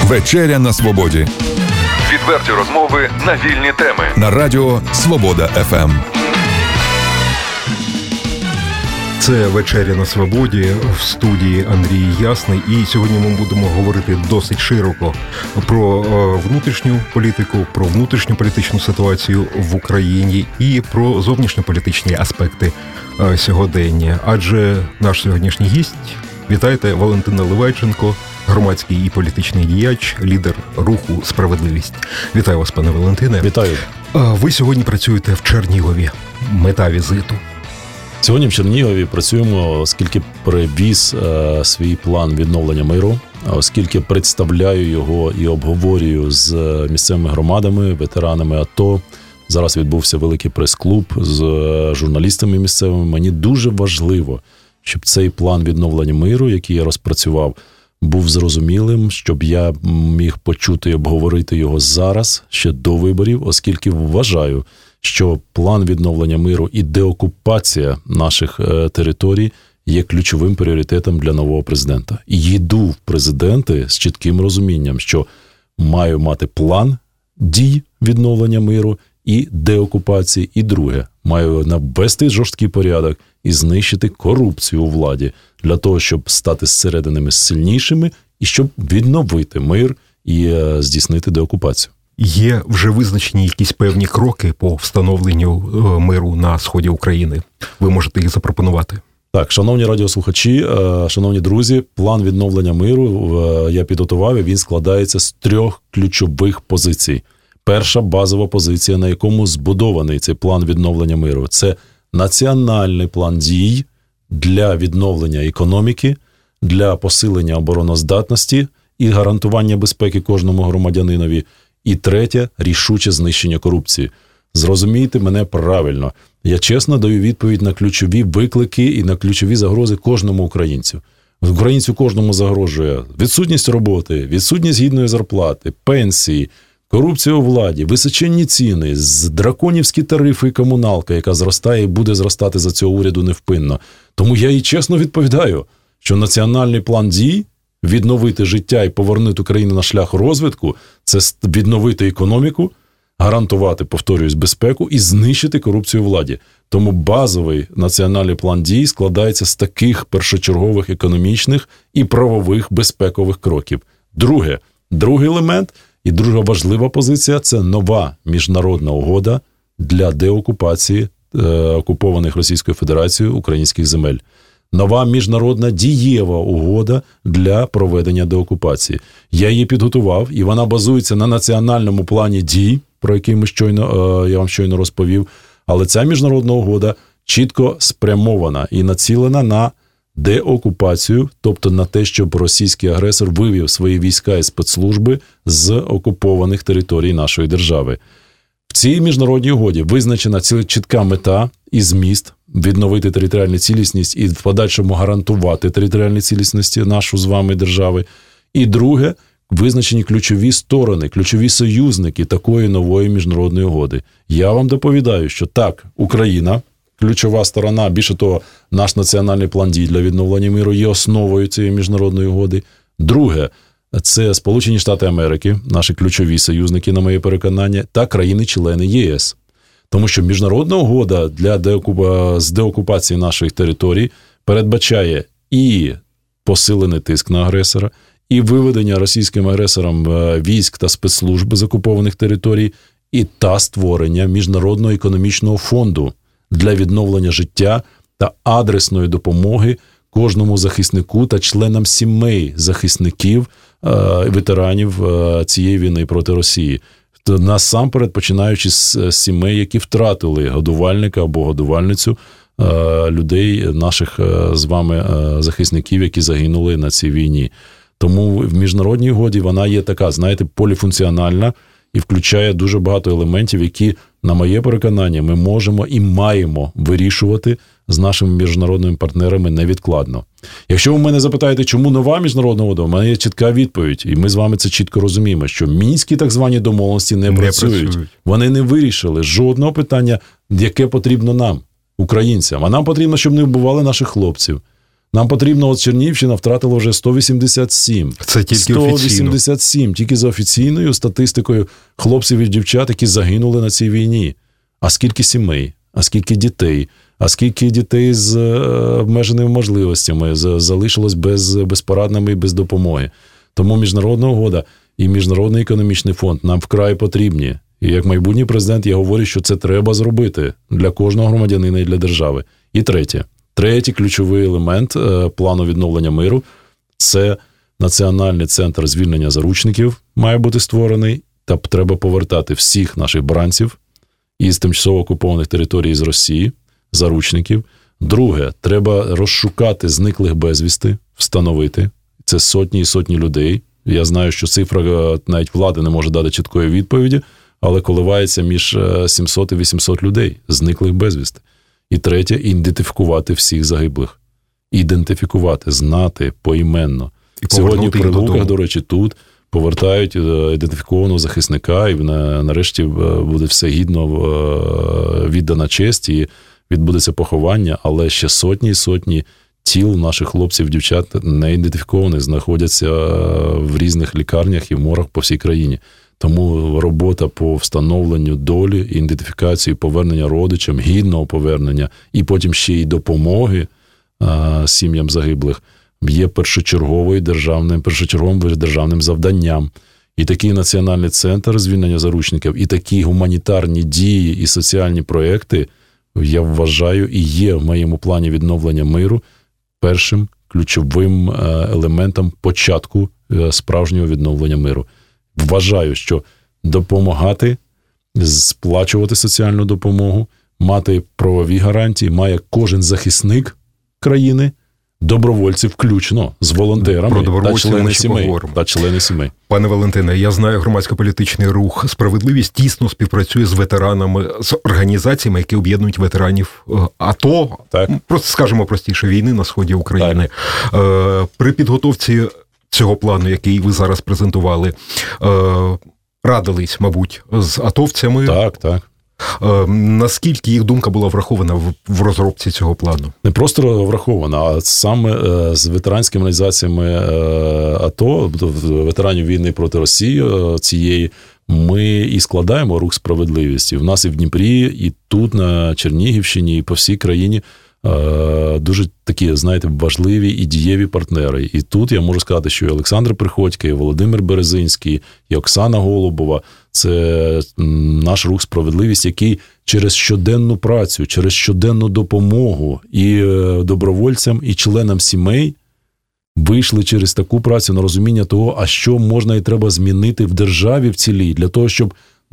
Вечеря на свободі. Відверті розмови на вільні теми. На радіо Свобода ФМ. Це «Вечеря на свободі», в студії Андрій Ясний. І сьогодні ми будемо говорити досить широко про внутрішню політику, про внутрішню політичну ситуацію в Україні і про зовнішньополітичні аспекти сьогодення. Адже наш сьогоднішній гість, вітайте, Валентина Ливайченко, громадський і політичний діяч, лідер руху «Справедливість». Вітаю вас, пане Валентине. Вітаю. Ви сьогодні працюєте в Чернігові. Мета візиту? Сьогодні в Чернігові працюємо, оскільки привіз свій план відновлення миру, оскільки представляю його і обговорюю з місцевими громадами, ветеранами АТО. Зараз відбувся великий прес-клуб з журналістами місцевими. Мені дуже важливо, щоб цей план відновлення миру, який я розпрацював, був зрозумілим, щоб я міг почути і обговорити його зараз, ще до виборів, оскільки вважаю, що план відновлення миру і деокупація наших територій є ключовим пріоритетом для нового президента. І йду в президенти з чітким розумінням, що маю мати план дій відновлення миру і деокупації. І друге, маю навести жорсткий порядок і знищити корупцію у владі для того, щоб стати зсередини сильнішими і щоб відновити мир і здійснити деокупацію. Є вже визначені якісь певні кроки по встановленню миру на сході України. Ви можете їх запропонувати? Так, шановні радіослухачі, шановні друзі, план відновлення миру я підготував, і він складається з 3 ключових позицій. Перша базова позиція, на якому збудований цей план відновлення миру, це національний план дій для відновлення економіки, для посилення обороноздатності і гарантування безпеки кожному громадянинові. І третє – рішуче знищення корупції. Зрозумійте мене правильно. Я чесно даю відповідь на ключові виклики і на ключові загрози кожному українцю. Українцю кожному загрожує відсутність роботи, відсутність гідної зарплати, пенсії, корупція у владі, височенні ціни, драконівські тарифи і комуналка, яка зростає і буде зростати за цього уряду невпинно. Тому я і чесно відповідаю, що національний план дій відновити життя і повернути Україну на шлях розвитку – це відновити економіку, гарантувати, повторююсь, безпеку і знищити корупцію у владі. Тому базовий національний план дій складається з таких першочергових економічних і правових безпекових кроків. Другий елемент і друга важлива позиція – це нова міжнародна угода для деокупації окупованих Російською Федерацією українських земель. Нова міжнародна дієва угода для проведення деокупації. Я її підготував, і вона базується на національному плані дій, про який я вам щойно розповів. Але ця міжнародна угода чітко спрямована і націлена на деокупацію, тобто на те, щоб російський агресор вивів свої війська і спецслужби з окупованих територій нашої держави. В цій міжнародній угоді визначена чітка мета і зміст відновити територіальну цілісність і в подальшому гарантувати територіальну цілісність нашу з вами держави. І друге, визначені ключові сторони, ключові союзники такої нової міжнародної угоди. Я вам доповідаю, що так, Україна, ключова сторона, більше того, наш національний план дій для відновлення миру є основою цієї міжнародної угоди. Друге, це Сполучені Штати Америки, наші ключові союзники, на моє переконання, та країни-члени ЄС. Тому що міжнародна угода з деокупації наших територій передбачає і посилений тиск на агресора, і виведення російським агресором військ та спецслужб з окупованих територій, і створення міжнародного економічного фонду для відновлення життя та адресної допомоги кожному захиснику та членам сімей захисників, ветеранів цієї війни проти Росії. Насамперед, починаючи з сімей, які втратили годувальника або годувальницю, людей, наших з вами захисників, які загинули на цій війні. Тому в міжнародній угоді вона є така, знаєте, поліфункціональна і включає дуже багато елементів, які, на моє переконання, ми можемо і маємо вирішувати з нашими міжнародними партнерами невідкладно. Якщо ви мене запитаєте, чому нова міжнародна угода, у мене є чітка відповідь, і ми з вами це чітко розуміємо, що мінські так звані домовленості не працюють. Вони не вирішили жодного питання, яке потрібно нам, українцям. А нам потрібно, щоб не вбивали наших хлопців. Нам потрібно, от Чернігівщина втратила вже 187. Це тільки 187, тільки за офіційною статистикою хлопців і дівчат, які загинули на цій війні. А скільки сімей, а скільки дітей, а скільки дітей з обмеженими можливостями залишилось безпорадними і без допомоги. Тому міжнародна угода і Міжнародний економічний фонд нам вкрай потрібні. І як майбутній президент я говорю, що це треба зробити для кожного громадянина і для держави. І третій ключовий елемент плану відновлення миру – це Національний центр звільнення заручників має бути створений, та треба повертати всіх наших бранців із тимчасово окупованих територій з Росії, заручників. Друге, треба розшукати зниклих безвісти, встановити. Це сотні і сотні людей. Я знаю, що цифра навіть влади не може дати чіткої відповіді, але коливається між 700 і 800 людей, зниклих безвісти. І третє, ідентифікувати всіх загиблих. Ідентифікувати, знати поіменно. Сьогодні в Прилуках, до речі, тут повертають ідентифікованого захисника, і нарешті буде все гідно віддана честь, і відбудеться поховання, але ще сотні і сотні тіл наших хлопців, дівчат не ідентифікованих, знаходяться в різних лікарнях і в моргах по всій країні. Тому робота по встановленню долі, ідентифікації, повернення родичам, гідного повернення і потім ще й допомоги сім'ям загиблих є першочерговим державним завданням. І такий національний центр звільнення заручників, і такі гуманітарні дії і соціальні проекти, я вважаю, і є в моєму плані відновлення миру першим ключовим елементом початку справжнього відновлення миру. Вважаю, що допомагати, сплачувати соціальну допомогу, мати правові гарантії має кожен захисник країни, добровольці включно з волонтерами та члени сімей. Пане Валентине, я знаю, громадсько-політичний рух «Справедливість» тісно співпрацює з ветеранами, з організаціями, які об'єднують ветеранів АТО, просто скажемо простіше, війни на сході України. При підготовці цього плану, який ви зараз презентували, радились, мабуть, з атовцями. Так. Наскільки їх думка була врахована в розробці цього плану? Не просто врахована, а саме з ветеранськими організаціями АТО, ветеранів війни проти Росії цієї, ми і складаємо рух «Справедливість». І в нас і в Дніпрі, і тут на Чернігівщині, і по всій країні дуже такі, знаєте, важливі і дієві партнери. І тут я можу сказати, що і Олександр Приходько, і Володимир Березинський, і Оксана Голубова – це наш рух «Справедливість», який через щоденну працю, через щоденну допомогу і добровольцям, і членам сімей вийшли через таку працю на розуміння того, а що можна і треба змінити в державі в цілій, для того, щоб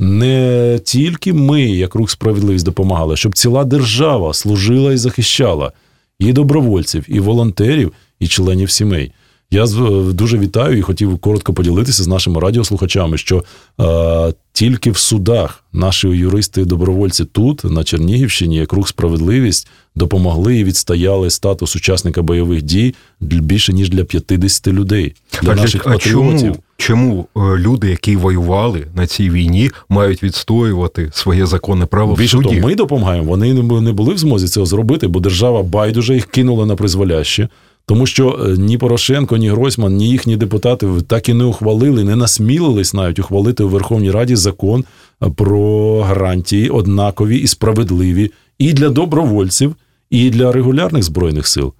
не тільки ми, як рух «Справедливість», допомагали, щоб ціла держава служила і захищала і добровольців, і волонтерів, і членів сімей. Я дуже вітаю і хотів коротко поділитися з нашими радіослухачами, що тільки в судах наші юристи і добровольці тут, на Чернігівщині, як рух «Справедливість», допомогли і відстояли статус учасника бойових дій більше, ніж для 50 людей. Для наших патріотів. Чому люди, які воювали на цій війні, мають відстоювати своє законне право в суді? Більше того, ми допомагаємо, вони не були в змозі цього зробити, бо держава байдуже їх кинула на призволяще. Тому що ні Порошенко, ні Гройсман, ні їхні депутати так і не ухвалили, не насмілились навіть ухвалити у Верховній Раді закон про гарантії однакові і справедливі і для добровольців, і для регулярних Збройних сил,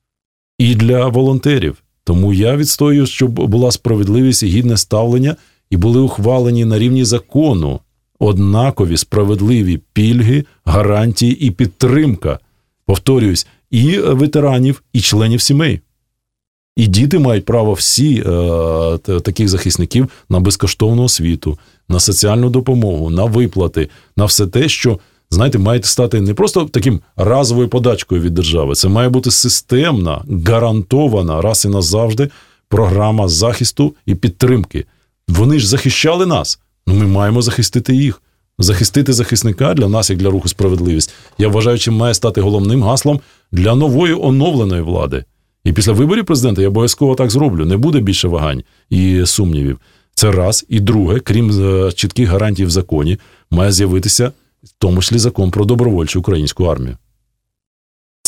і для волонтерів. Тому я відстоюю, щоб була справедливість і гідне ставлення, і були ухвалені на рівні закону однакові справедливі пільги, гарантії і підтримка. Повторююсь, і ветеранів, і членів сімей. І діти мають право всі таких захисників на безкоштовну освіту, на соціальну допомогу, на виплати, на все те, що, знаєте, має стати не просто таким разовою подачкою від держави. Це має бути системна, гарантована раз і назавжди програма захисту і підтримки. Вони ж захищали нас, ми маємо захистити їх. Захистити захисника для нас, як для руху «Справедливість», я вважаю, чим має стати головним гаслом для нової оновленої влади. І після виборів президента я обов'язково так зроблю. Не буде більше вагань і сумнівів. Це раз. І друге, крім чітких гарантій в законі, має з'явитися в тому числі закон про добровольчу українську армію.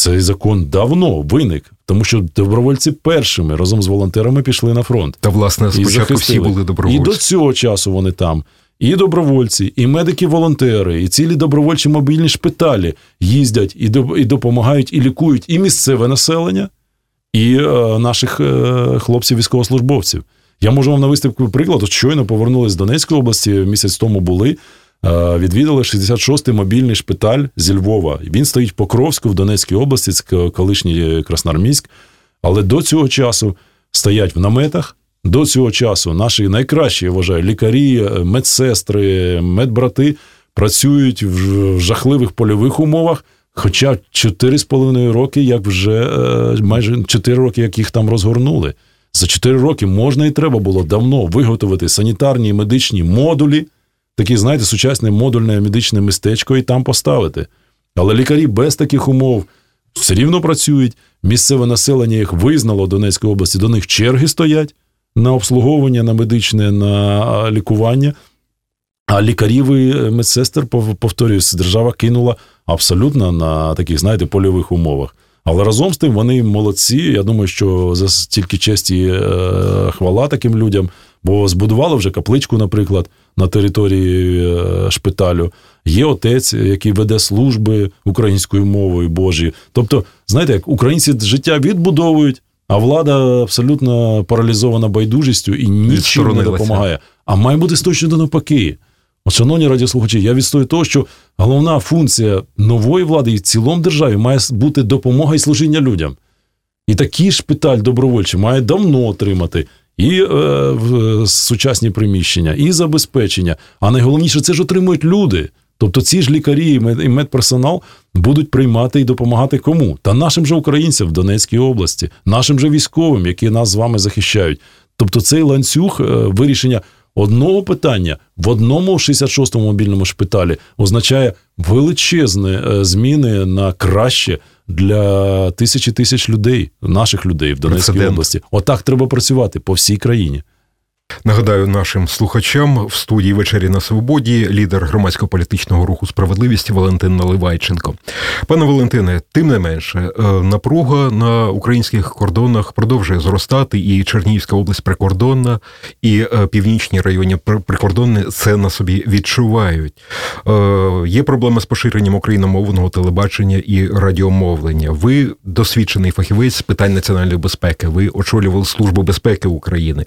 Цей закон давно виник, тому що добровольці першими разом з волонтерами пішли на фронт. Та, власне, спочатку всі були добровольці. І до цього часу вони там. І добровольці, і медики-волонтери, і цілі добровольчі мобільні шпиталі їздять і допомагають, і лікують і місцеве населення, і наших хлопців-військовослужбовців. Я можу вам навести приклад. От щойно повернулись з Донецької області, місяць тому були, відвідали 66-й мобільний шпиталь зі Львова. Він стоїть в Покровську, в Донецькій області, це колишній Красноармійськ. Але до цього часу стоять в наметах, до цього часу наші найкращі, я вважаю, лікарі, медсестри, медбрати працюють в жахливих польових умовах, хоча 4,5 роки, як вже майже 4 роки, як їх там розгорнули. За 4 роки можна і треба було давно виготовити санітарні і медичні модулі, такі, знаєте, сучасне модульне медичне містечко і там поставити. Але лікарі без таких умов все рівно працюють, місцеве населення їх визнало Донецької області, до них черги стоять на обслуговування, на медичне, на лікування. А лікарів і медсестер, повторююсь, держава кинула абсолютно на таких, знаєте, польових умовах. Але разом з тим вони молодці. Я думаю, що за стільки честі і хвала таким людям, бо збудували вже капличку, наприклад, на території шпиталю. Є отець, який веде служби українською мовою Божою. Тобто, знаєте, як українці життя відбудовують, а влада абсолютно паралізована байдужістю і нічим не допомагає. А має бути точно навпаки. От, шановні радіослухачі, я відстою того, що головна функція нової влади і в цілому державі має бути допомога і служіння людям. І такий шпиталь добровольчий має давно отримати і сучасні приміщення, і забезпечення. А найголовніше, це ж отримують люди. Тобто ці ж лікарі і медперсонал будуть приймати і допомагати кому? Та нашим же українцям в Донецькій області, нашим же військовим, які нас з вами захищають. Тобто цей ланцюг вирішення одного питання в одному 66-му мобільному шпиталі означає величезні зміни на краще для тисяч людей, наших людей в Донецькій області. Отак треба працювати по всій країні. Нагадаю нашим слухачам, в студії «Вечері на Свободі» лідер громадсько-політичного руху «Справедливість» Валентин Наливайченко. Пане Валентине, тим не менше, напруга на українських кордонах продовжує зростати, і Чернігівська область прикордонна, і північні райони прикордонні це на собі відчувають. Є проблеми з поширенням україномовного телебачення і радіомовлення. Ви досвідчений фахівець з питань національної безпеки, ви очолювали Службу безпеки України.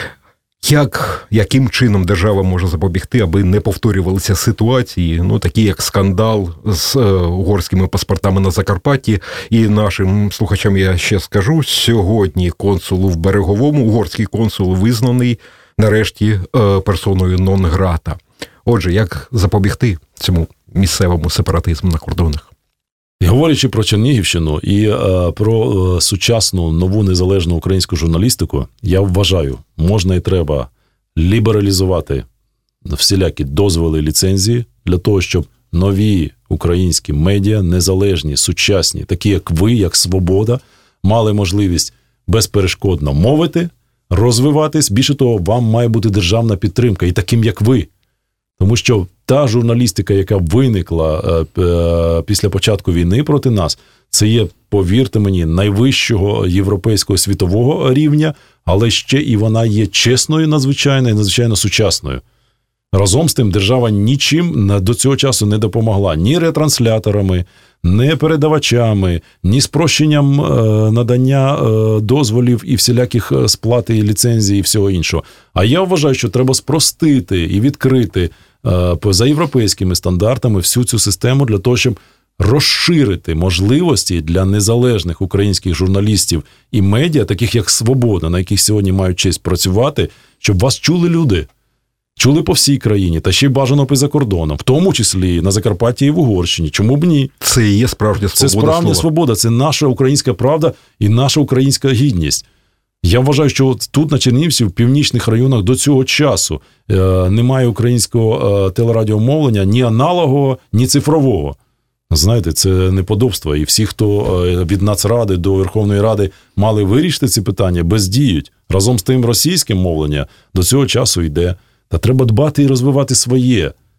Яким чином держава може запобігти, аби не повторювалися ситуації, такі як скандал з угорськими паспортами на Закарпатті? І нашим слухачам я ще скажу, сьогодні консул в Береговому, угорський консул, визнаний нарешті персоною нон-грата. Отже, як запобігти цьому місцевому сепаратизму на кордонах? І говорячи про Чернігівщину і про сучасну нову незалежну українську журналістику, я вважаю, можна і треба лібералізувати всілякі дозволи, ліцензії для того, щоб нові українські медіа, незалежні, сучасні, такі як ви, як Свобода, мали можливість безперешкодно мовити, розвиватись. Більше того, вам має бути державна підтримка і таким, як ви. Тому що та журналістика, яка виникла після початку війни проти нас, це є, повірте мені, найвищого європейського світового рівня, але ще і вона є чесною надзвичайно і надзвичайно сучасною. Разом з тим, держава нічим до цього часу не допомогла. Ні ретрансляторами, ні передавачами, ні спрощенням надання дозволів і всіляких сплати і ліцензій і всього іншого. А я вважаю, що треба спростити і відкрити за європейськими стандартами всю цю систему для того, щоб розширити можливості для незалежних українських журналістів і медіа, таких як «Свобода», на яких сьогодні мають честь працювати, щоб вас чули люди. Чули по всій країні, та ще й бажано за кордоном, в тому числі на Закарпатті і в Угорщині. Чому б ні? Це і є справжня свобода. Це справжня свобода, це наша українська правда і наша українська гідність. Я вважаю, що от тут, на Чернігівці, в північних районах до цього часу немає українського телерадіомовлення ні аналогового, ні цифрового. Знаєте, це неподобство. І всі, хто від Нацради до Верховної Ради мали вирішити ці питання, бездіють. Разом з тим російське мовлення до цього часу йде. Та треба дбати і розвивати своє.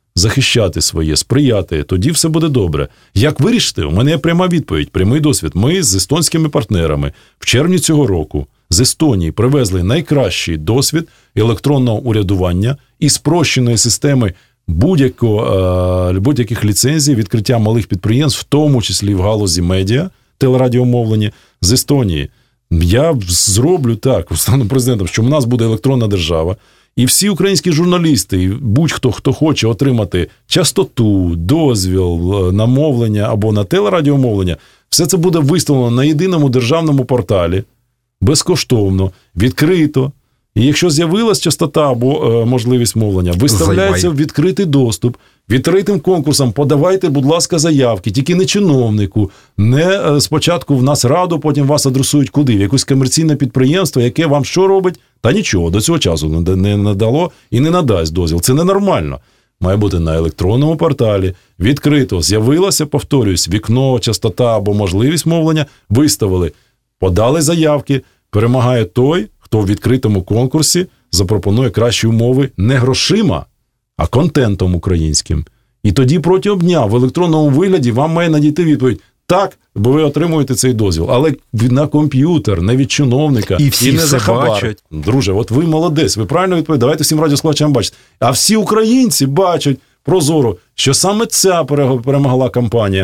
захищати своє, сприяти, тоді все буде добре. Як вирішити? У мене є пряма відповідь, прямий досвід. Ми з естонськими партнерами в червні цього року з Естонії привезли найкращий досвід електронного урядування і спрощеної системи будь-яких ліцензій, відкриття малих підприємств, в тому числі в галузі медіа, телерадіомовлення з Естонії. Я зроблю так, стану президентом, що в нас буде електронна держава, і всі українські журналісти, і будь-хто, хто хоче отримати частоту, дозвіл на мовлення або на телерадіомовлення, все це буде виставлено на єдиному державному порталі, безкоштовно, відкрито. І якщо з'явилась частота або можливість мовлення, виставляється в відкритий доступ, відкритим конкурсом подавайте, будь ласка, заявки, тільки не чиновнику, не спочатку в нас раду, потім вас адресують куди? В якесь комерційне підприємство, яке вам що робить? Та нічого, до цього часу не надало і не надасть дозвіл. Це ненормально. Має бути на електронному порталі, відкрито, з'явилося, повторюсь, вікно, частота або можливість мовлення, виставили, подали заявки, перемагає той, хто в відкритому конкурсі запропонує кращі умови не грошима, а контентом українським. І тоді протягом дня в електронному вигляді вам має надійти відповідь: так, бо ви отримуєте цей дозвіл, але на комп'ютер, не від чиновника, і всі не все за хабар. бачать. Друже, от ви молодець, ви правильно відповідаєте, давайте всім радіослухачам бачити. А всі українці бачать прозоро, що саме ця перемогла кампанія.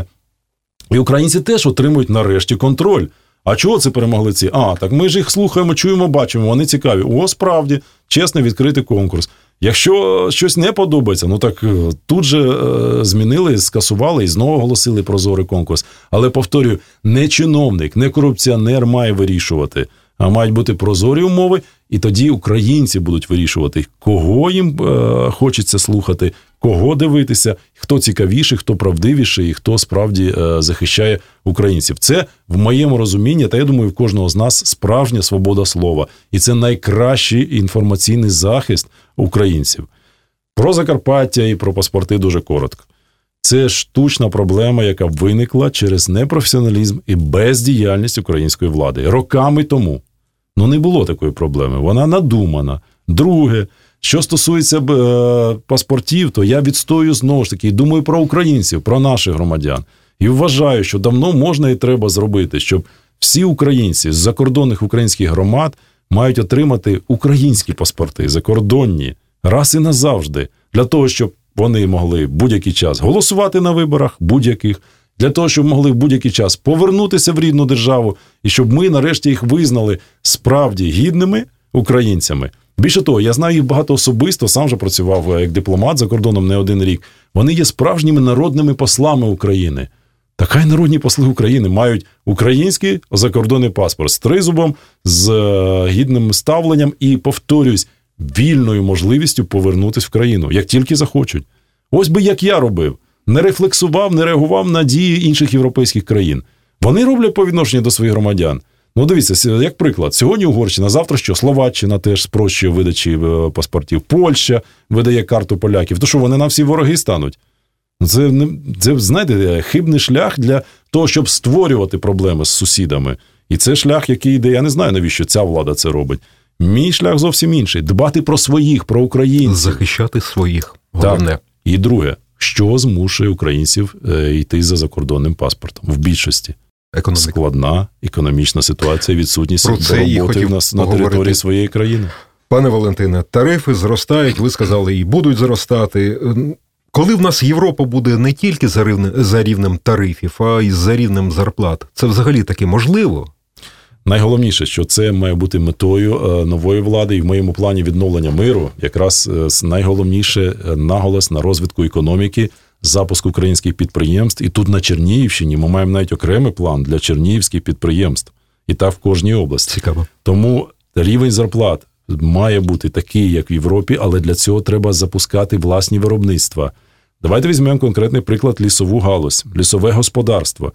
І українці теж отримують нарешті контроль. А чого це перемогли ці? Так ми ж їх слухаємо, чуємо, бачимо, вони цікаві. О, справді, чесний відкритий конкурс. Якщо щось не подобається, так тут же змінили, скасували і знову оголосили прозорий конкурс. Але, повторюю, не чиновник, не корупціонер має вирішувати, а мають бути прозорі умови, і тоді українці будуть вирішувати, кого їм хочеться слухати, кого дивитися, хто цікавіший, хто правдивіший і хто справді захищає українців. Це, в моєму розумінні, та я думаю, в кожного з нас справжня свобода слова. І це найкращий інформаційний захист українців. Про Закарпаття і про паспорти дуже коротко. Це штучна проблема, яка виникла через непрофесіоналізм і бездіяльність української влади. Роками тому. Не було такої проблеми. Вона надумана. Друге, що стосується паспортів, то я відстоюю знову ж таки, думаю про українців, про наших громадян. І вважаю, що давно можна і треба зробити, щоб всі українці з закордонних українських громад мають отримати українські паспорти, закордонні, раз і назавжди, для того, щоб вони могли в будь-який час голосувати на виборах, будь-яких, для того, щоб могли в будь-який час повернутися в рідну державу, і щоб ми нарешті їх визнали справді гідними українцями. Більше того, я знаю їх багато особисто, сам же працював як дипломат за кордоном не один рік. Вони є справжніми народними послами України. Та хай народні посли України мають український закордонний паспорт з тризубом, з гідним ставленням і, повторюсь, вільною можливістю повернутися в країну, як тільки захочуть. Ось би як я робив. Не рефлексував, не реагував на дії інших європейських країн. Вони роблять по відношенню до своїх громадян. Дивіться, як приклад, сьогодні Угорщина, завтра що? Словаччина теж спрощує видачі паспортів, Польща видає карту поляків. То що, вони нам всі вороги стануть? Це, знаєте, хибний шлях для того, щоб створювати проблеми з сусідами. І це шлях, який йде, я не знаю, навіщо ця влада це робить. Мій шлях зовсім інший. Дбати про своїх, про українців. Захищати своїх, головне. Так. І друге, що змушує українців йти за закордонним паспортом? В більшості. Економіка. Складна економічна ситуація, відсутність роботи на території своєї країни. Пане Валентине, тарифи зростають, ви сказали, і будуть зростати. Коли в нас Європа буде не тільки за рівнем тарифів, а й за рівнем зарплат, це взагалі таки можливо? Найголовніше, що це має бути метою нової влади, і в моєму плані відновлення миру якраз найголовніше наголос на розвитку економіки, запуск українських підприємств. І тут на Чернігівщині ми маємо навіть окремий план для чернігівських підприємств. І так в кожній області. Цікаво. Тому рівень зарплат має бути такий, як в Європі, але для цього треба запускати власні виробництва. Давайте візьмемо конкретний приклад лісову галузь, лісове господарство.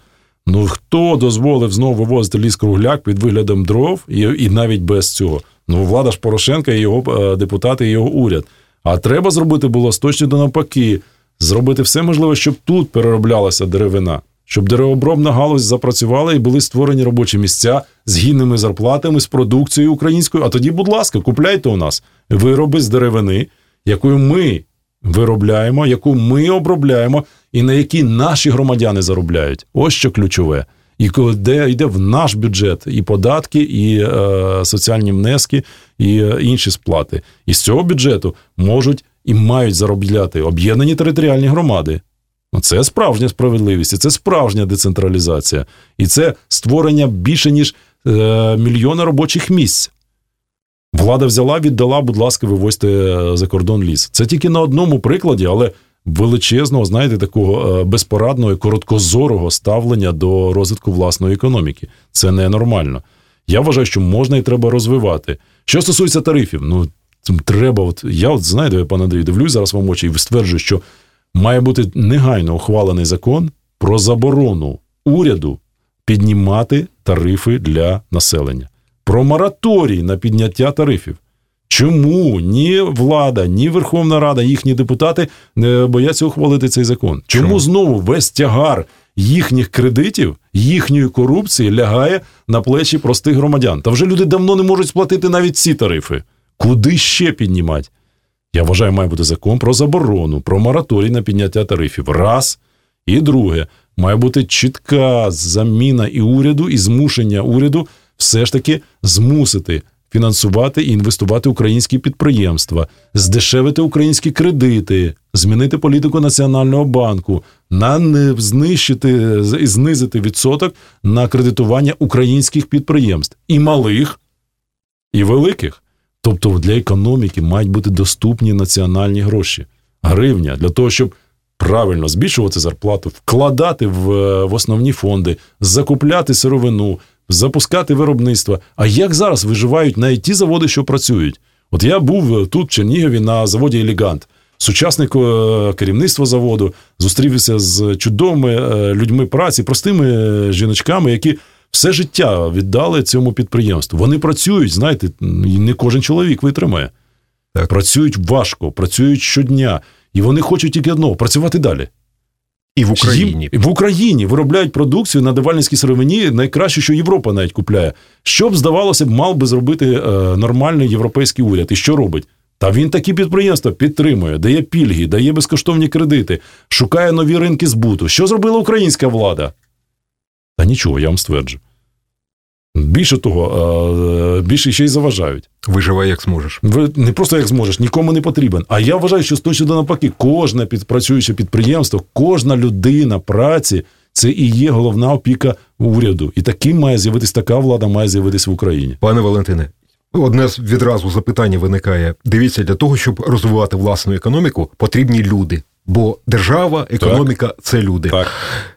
Хто дозволив знову вивозити ліс-кругляк під виглядом дров і навіть без цього? Влада ж Порошенка і його депутати, і його уряд. А треба зробити було точно навпаки. Зробити все можливе, щоб тут перероблялася деревина. Щоб деревообробна галузь запрацювала і були створені робочі місця з гідними зарплатами, з продукцією українською. А тоді, будь ласка, купляйте у нас вироби з деревини, якою ми виробляємо, яку ми обробляємо і на якій наші громадяни заробляють. Ось що ключове. І де йде в наш бюджет і податки, і соціальні внески, і інші сплати. І з цього бюджету можуть і мають заробляти об'єднані територіальні громади. Це справжня справедливість, і це справжня децентралізація. І це створення більше, ніж мільйона робочих місць. Влада взяла, віддала, будь ласка, вивозьте за кордон ліс. Це тільки на одному прикладі, але величезного, знаєте, такого безпорадного і короткозорого ставлення до розвитку власної економіки. Це ненормально. Я вважаю, що можна і треба розвивати. Що стосується тарифів, треба, знаєте, пане Андрій, дивлюсь зараз вам очі і стверджую, що має бути негайно ухвалений закон про заборону уряду піднімати тарифи для населення. Про мораторій на підняття тарифів. Чому ні влада, ні Верховна Рада, їхні депутати не бояться ухвалити цей закон? Чому знову весь тягар їхніх кредитів, їхньої корупції лягає на плечі простих громадян? Та вже люди давно не можуть сплатити навіть ці тарифи. Куди ще піднімати? Я вважаю, має бути закон про заборону, про мораторій на підняття тарифів. Раз. І друге, має бути чітка заміна і уряду, і змушення уряду все ж таки змусити фінансувати і інвестувати українські підприємства, здешевити українські кредити, змінити політику Національного банку, знизити відсоток на кредитування українських підприємств. І малих, і великих. Тобто для економіки мають бути доступні національні гроші. Гривня для того, щоб правильно збільшувати зарплату, вкладати в основні фонди, закупляти сировину, запускати виробництво. А як зараз виживають навіть ті заводи, що працюють? От я був тут, в Чернігові, на заводі «Елегант». Сучасне керівництво заводу, зустрівся з чудовими людьми праці, простими жіночками, які все життя віддали цьому підприємству. Вони працюють, знаєте, і не кожен чоловік витримає. Так. Працюють важко, працюють щодня. І вони хочуть тільки одного – працювати далі. І в Україні. В Україні виробляють продукцію на давальницькій сировині, найкраще, що Європа навіть купляє. Що б, здавалося б, мав би зробити нормальний європейський уряд. І що робить? Та він такі підприємства підтримує, дає пільги, дає безкоштовні кредити, шукає нові ринки збуту. Що зробила українська влада? Та нічого, я вам стверджу. Більше того, більше ще й заважають. Виживай як зможеш. Не просто як зможеш, нікому не потрібен. А я вважаю, що точно навпаки, кожне працююче підприємство, кожна людина праці – це і є головна опіка уряду. І таким має з'явитись, така влада має з'явитись в Україні. Пане Валентине, одне відразу запитання виникає. Дивіться, для того, щоб розвивати власну економіку, потрібні люди. Бо держава, економіка – це люди. Так.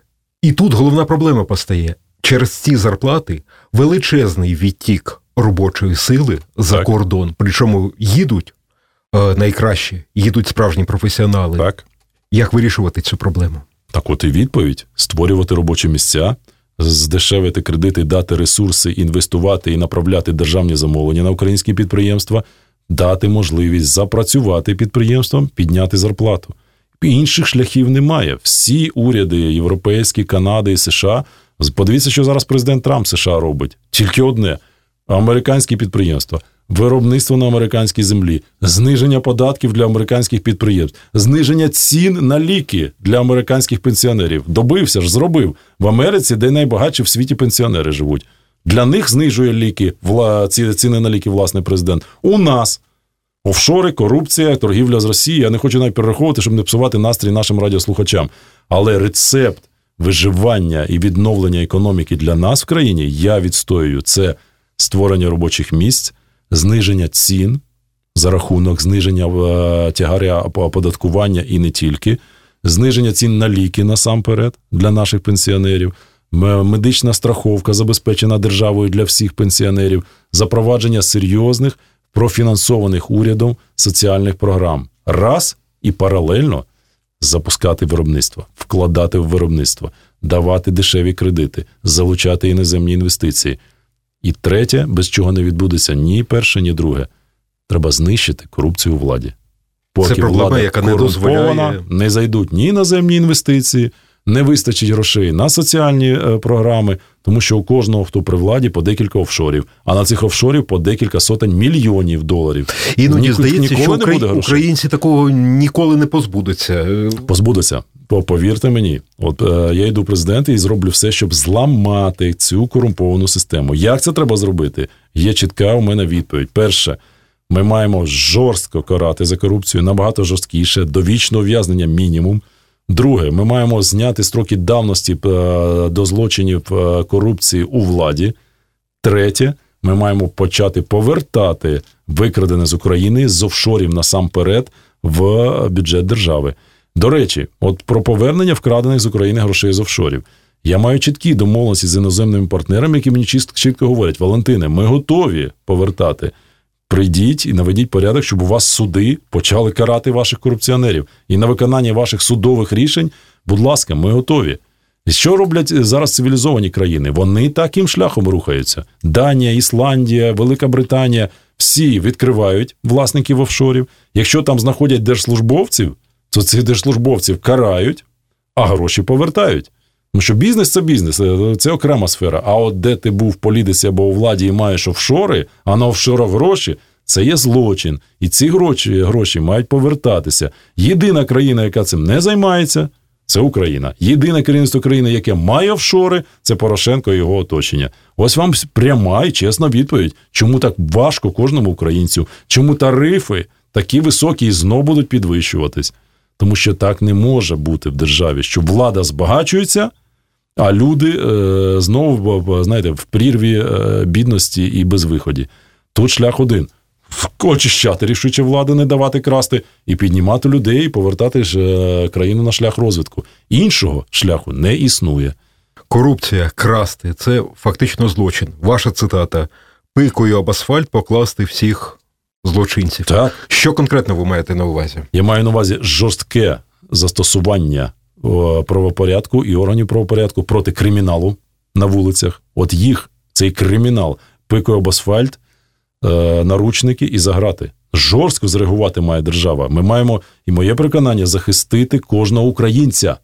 І тут головна проблема постає. Через ці зарплати величезний відтік робочої сили за кордон. Причому їдуть найкраще, їдуть справжні професіонали. Так. Як вирішувати цю проблему? Так от і відповідь. Створювати робочі місця, здешевити кредити, дати ресурси, інвестувати і направляти державні замовлення на українські підприємства, дати можливість запрацювати підприємствам, підняти зарплату. Інших шляхів немає. Всі уряди європейські, Канади і США, подивіться, що зараз президент Трамп США робить. Тільки одне – американські підприємства, виробництво на американській землі, зниження податків для американських підприємств, зниження цін на ліки для американських пенсіонерів. Добився ж, зробив. В Америці, де найбагатші в світі пенсіонери живуть. Для них знижує ліки, ціни на ліки, власне, президент. У нас офшори, корупція, торгівля з Росією. Я не хочу навіть перераховувати, щоб не псувати настрій нашим радіослухачам. Але рецепт виживання і відновлення економіки для нас в країні, я відстоюю, це створення робочих місць, зниження цін за рахунок зниження тягаря оподаткування і не тільки, зниження цін на ліки насамперед для наших пенсіонерів, медична страховка забезпечена державою для всіх пенсіонерів, запровадження серйозних, профінансованих урядом соціальних програм. Раз і паралельно запускати виробництво, вкладати в виробництво, давати дешеві кредити, залучати іноземні інвестиції. І третє, без чого не відбудеться ні перше, ні друге. Треба знищити корупцію у владі. Поки це проблема, влада яка не дозволяє. Не зайдуть ні іноземні інвестиції, не вистачить грошей на соціальні програми, тому що у кожного, хто при владі, по декілька офшорів, а на цих офшорів по декілька сотень мільйонів доларів. Іноді здається, що українці такого ніколи не позбудуться. Позбудуться. Повірте мені, от я йду в президенти і зроблю все, щоб зламати цю корумповану систему. Як це треба зробити? Є чітка у мене відповідь. Перше, ми маємо жорстко карати за корупцію, набагато жорсткіше, довічне ув'язнення мінімум. Друге, ми маємо зняти строки давності до злочинів корупції у владі. Третє, ми маємо почати повертати викрадене з України з офшорів насамперед в бюджет держави. До речі, от про повернення вкрадених з України грошей з офшорів. Я маю чіткі домовленості з іноземними партнерами, які мені чітко говорять: Валентине, ми готові повертати. Прийдіть і наведіть порядок, щоб у вас суди почали карати ваших корупціонерів. І на виконання ваших судових рішень, будь ласка, ми готові. І що роблять зараз цивілізовані країни? Вони таким шляхом рухаються. Данія, Ісландія, Велика Британія – всі відкривають власників офшорів. Якщо там знаходять держслужбовців, то цих держслужбовців карають, а гроші повертають. Тому що бізнес – це бізнес, це окрема сфера. А от де ти був в політиці або у владі і маєш офшори, а на офшорах гроші – це є злочин. І ці гроші мають повертатися. Єдина країна, яка цим не займається – це Україна. Єдине керівництво країни, яке має офшори – це Порошенко і його оточення. Ось вам пряма і чесна відповідь, чому так важко кожному українцю, чому тарифи такі високі і знов будуть підвищуватись. Тому що так не може бути в державі, що влада збагачується, а люди знову, знаєте, в прірві бідності і безвиході. Тут шлях один. Очищати рішуче влади, не давати красти, і піднімати людей, і повертати країну на шлях розвитку. Іншого шляху не існує. Корупція, красти – це фактично злочин. Ваша цитата: «Пикою об асфальт покласти всіх злочинців». Так. Що конкретно ви маєте на увазі? Я маю на увазі жорстке застосування правопорядку і органів правопорядку проти криміналу на вулицях. От їх, цей кримінал, пикою об асфальт, наручники і заграти. Жорстко зреагувати має держава. Ми маємо, і моє переконання, захистити кожного українця.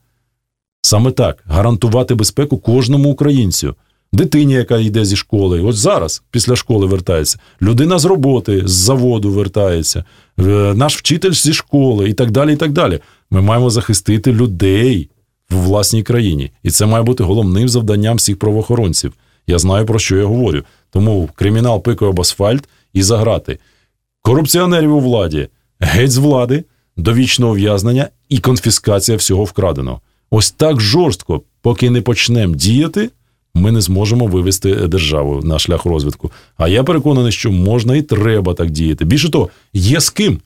Саме так, гарантувати безпеку кожному українцю. Дитині, яка йде зі школи, ось зараз, після школи вертається. Людина з роботи, з заводу вертається. Наш вчитель зі школи і так далі, і так далі. Ми маємо захистити людей в власній країні. І це має бути головним завданням всіх правоохоронців. Я знаю, про що я говорю. Тому кримінал пикою об асфальт і заграти. Корупціонерів у владі геть з влади, довічне ув'язнення і конфіскація всього вкраденого. Ось так жорстко, поки не почнемо діяти, ми не зможемо вивести державу на шлях розвитку. А я переконаний, що можна і треба так діяти. Більше того, є з ким.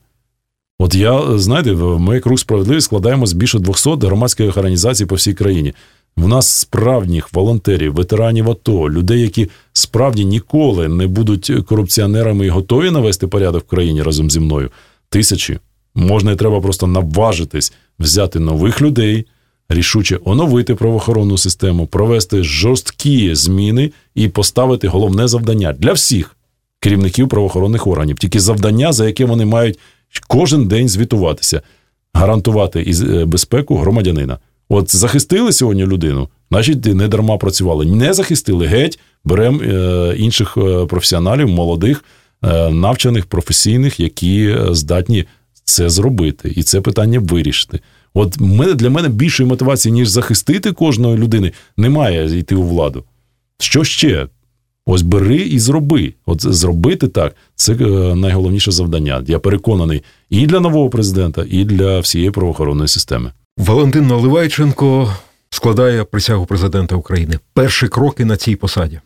От знаєте, ми «Круг справедливості» складаємо з більше 200 громадських організацій по всій країні. У нас справжніх волонтерів, ветеранів АТО, людей, які справді ніколи не будуть корупціонерами і готові навести порядок в країні разом зі мною. Тисячі. Можна і треба просто наважитись взяти нових людей, рішуче оновити правоохоронну систему, провести жорсткі зміни і поставити головне завдання для всіх керівників правоохоронних органів. Тільки завдання, за яке вони мають кожен день звітуватися. Гарантувати безпеку громадянина. От захистили сьогодні людину, значить не дарма працювали. Не захистили, геть, беремо інших професіоналів, молодих, навчених, професійних, які здатні це зробити і це питання вирішити. От для мене більшої мотивації, ніж захистити кожної людини, немає йти у владу. Що ще? Ось бери і зроби. От зробити так – це найголовніше завдання. Я переконаний і для нового президента, і для всієї правоохоронної системи. Валентин Наливайченко складає присягу президента України. Перші кроки на цій посаді.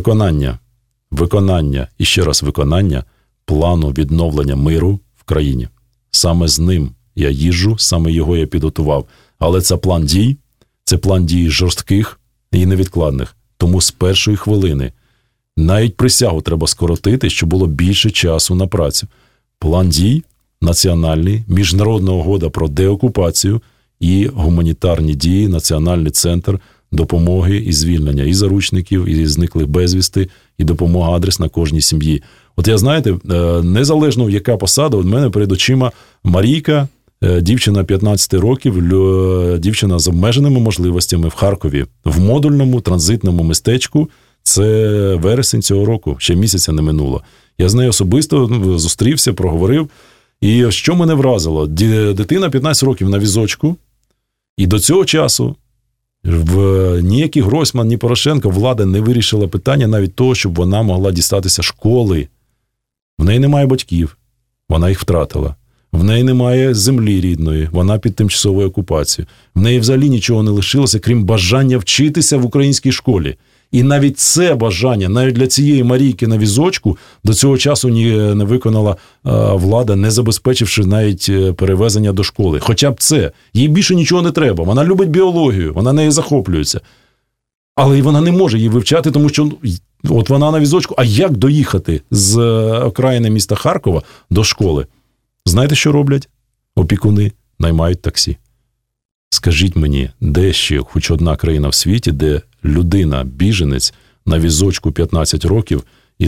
Виконання і ще раз виконання плану відновлення миру в країні. Саме з ним я їжджу, саме його я підготував. Але це план дій жорстких і невідкладних. Тому з першої хвилини навіть присягу треба скоротити, щоб було більше часу на працю. План дій національний, міжнародна угода про деокупацію і гуманітарні дії, Національний центр допомоги і звільнення і заручників, і зниклих безвісти, і допомога адресна кожній сім'ї. От я, знаєте, незалежно яка посада, у мене перед очима Марійка, Дівчина 15 років, дівчина з обмеженими можливостями в Харкові, в модульному транзитному містечку. Це вересень цього року, ще місяця не минуло. Я з нею особисто зустрівся, проговорив. І що мене вразило? Дитина 15 років на візочку, і до цього часу ніякий Гройсман, ні Порошенко, влада не вирішила питання навіть того, щоб вона могла дістатися школи. В неї немає батьків, вона їх втратила. В неї немає землі рідної, вона під тимчасовою окупацією. В неї взагалі нічого не лишилося, крім бажання вчитися в українській школі. І навіть це бажання, навіть для цієї Марійки на візочку, до цього часу не виконала влада, не забезпечивши навіть перевезення до школи. Хоча б це. Їй більше нічого не треба. Вона любить біологію, вона нею захоплюється. Але вона не може її вивчати, тому що от вона на візочку. А як доїхати з окраїни міста Харкова до школи? Знаєте, що роблять? Опікуни наймають таксі. Скажіть мені, де ще хоч одна країна в світі, де людина, біженець, на візочку 15 років і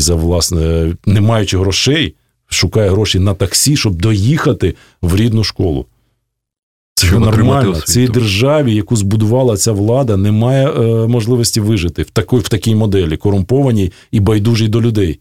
не маючи грошей, шукає гроші на таксі, щоб доїхати в рідну школу? Це нормально. В цій державі, яку збудувала ця влада, немає можливості вижити в такій моделі, корумпованій і байдужій до людей.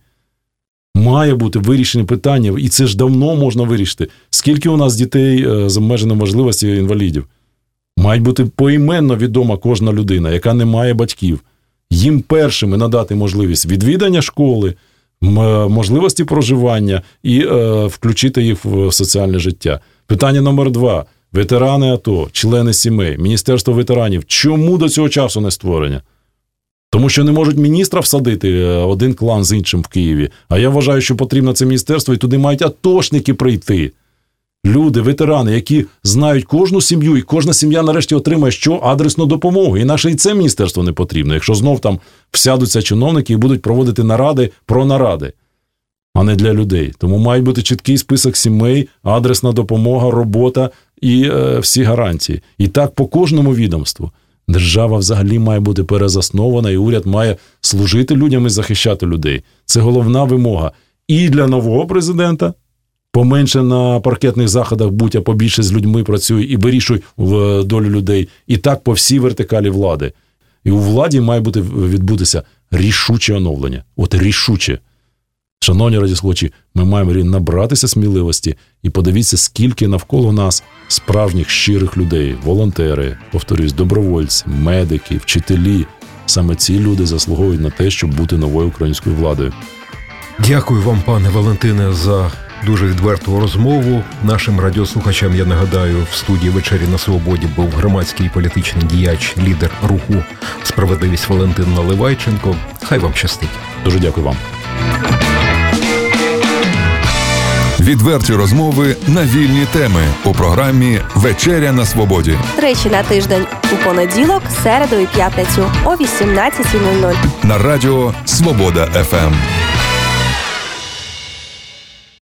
Має бути вирішені питання, і це ж давно можна вирішити. Скільки у нас дітей з обмеженими можливостями інвалідів? Має бути поіменно відома кожна людина, яка не має батьків. Їм першими надати можливість відвідання школи, можливості проживання і включити їх в соціальне життя. Питання номер 2. Ветерани АТО, члени сімей, Міністерство ветеранів. Чому до цього часу не створення? Тому що не можуть міністра всадити один клан з іншим в Києві. А я вважаю, що потрібно це міністерство, і туди мають атошники прийти. Люди, ветерани, які знають кожну сім'ю, і кожна сім'я нарешті отримає адресну допомогу. Інакше і це міністерство не потрібно, якщо знов там всядуться чиновники і будуть проводити наради про наради, а не для людей. Тому має бути чіткий список сімей, адресна допомога, робота і всі гарантії. І так по кожному відомству. Держава взагалі має бути перезаснована, і уряд має служити людям і захищати людей. Це головна вимога і для нового президента. Поменше на паркетних заходах будь, а побільше з людьми працюй і вирішуй в долю людей. І так по всій вертикалі влади. І у владі має відбутися рішуче оновлення. От рішуче. Шановні радіослухачі, ми маємо набратися сміливості і подивіться, скільки навколо нас справжніх щирих людей, волонтери, повторюсь, добровольці, медики, вчителі. Саме ці люди заслуговують на те, щоб бути новою українською владою. Дякую вам, пане Валентине, за дуже відверту розмову. Нашим радіослухачам, я нагадаю, в студії «Вечері на Свободі» був громадський і політичний діяч, лідер руху «Справедливість» Валентин Наливайченко. Хай вам щастить. Дуже дякую вам. Відверті розмови на вільні теми у програмі «Вечеря на Свободі». Тричі на тиждень у понеділок, середу і п'ятницю о 18:00. На радіо «Свобода ФМ».